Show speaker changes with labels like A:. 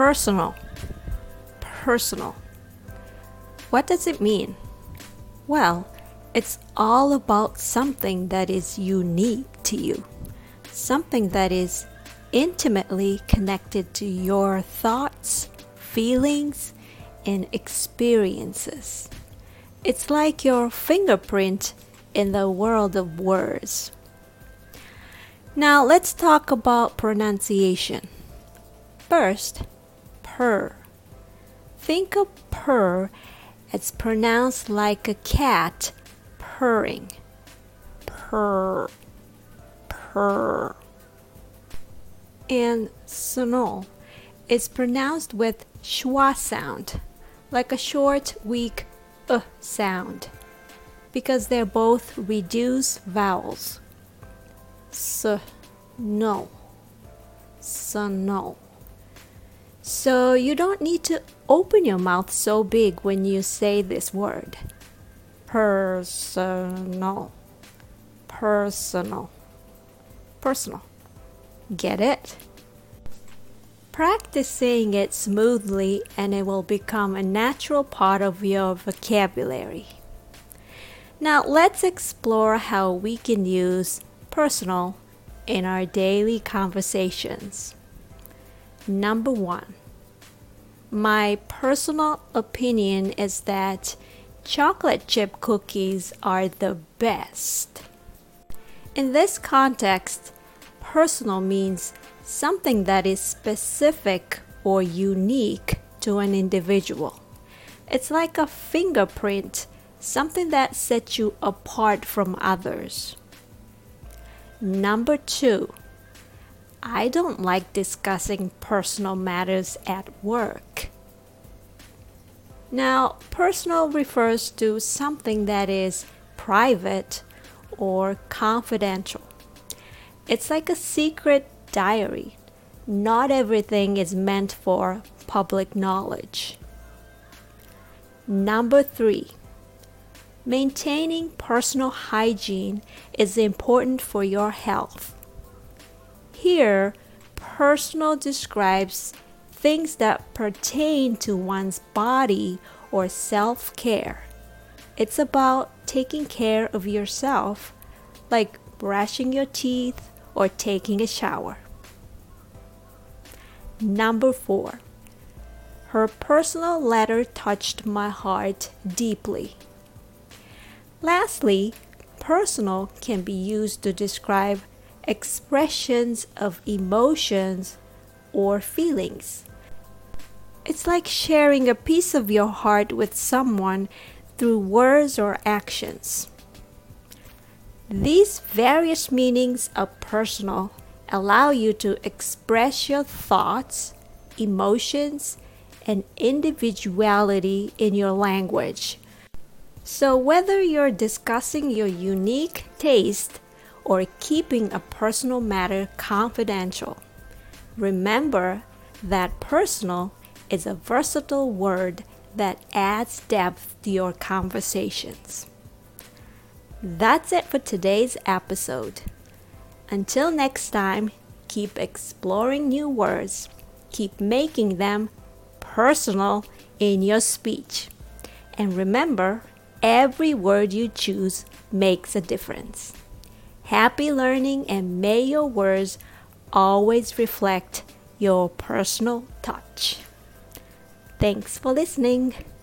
A: Personal. Personal. What does it mean? Well, it's all about something that is unique to you, something that is intimately connected to your thoughts, feelings, and experiences. It's like your fingerprint in the world of words. Now let's talk about pronunciation. First, purr. Think of purr as pronounced like a cat purring. Purr, purr. And sonol is pronounced with schwa sound, like a short, weak sound, because they're both reduced vowels. No, sonol. So you don't need to open your mouth so big when you say this word. Personal. Personal. Personal. Get it? Practice saying it smoothly and it will become a natural part of your vocabulary. Now let's explore how we can use personal in our daily conversations. Number 1. My personal opinion is that chocolate chip cookies are the best. In this context, personal means something that is specific or unique to an individual. It's like a fingerprint, something that sets you apart from others. Number 2. I don't like discussing personal matters at work. Now, personal refers to something that is private or confidential. It's like a secret diary. Not everything is meant for public knowledge. Number 3. Maintaining personal hygiene is important for your health. Here, personal describes things that pertain to one's body or self-care. It's about taking care of yourself, like brushing your teeth or taking a shower. Number 4. Her personal letter touched my heart deeply. Lastly, personal can be used to describe expressions of emotions or feelings. It's like sharing a piece of your heart with someone through words or actions. These various meanings of personal allow you to express your thoughts, emotions, and individuality in your language. So whether you're discussing your unique taste or keeping a personal matter confidential, remember that personal is a versatile word that adds depth to your conversations. That's it for today's episode. Until next time, keep exploring new words. Keep making them personal in your speech. And remember, every word you choose makes a difference. Happy learning, and may your words always reflect your personal touch. Thanks for listening.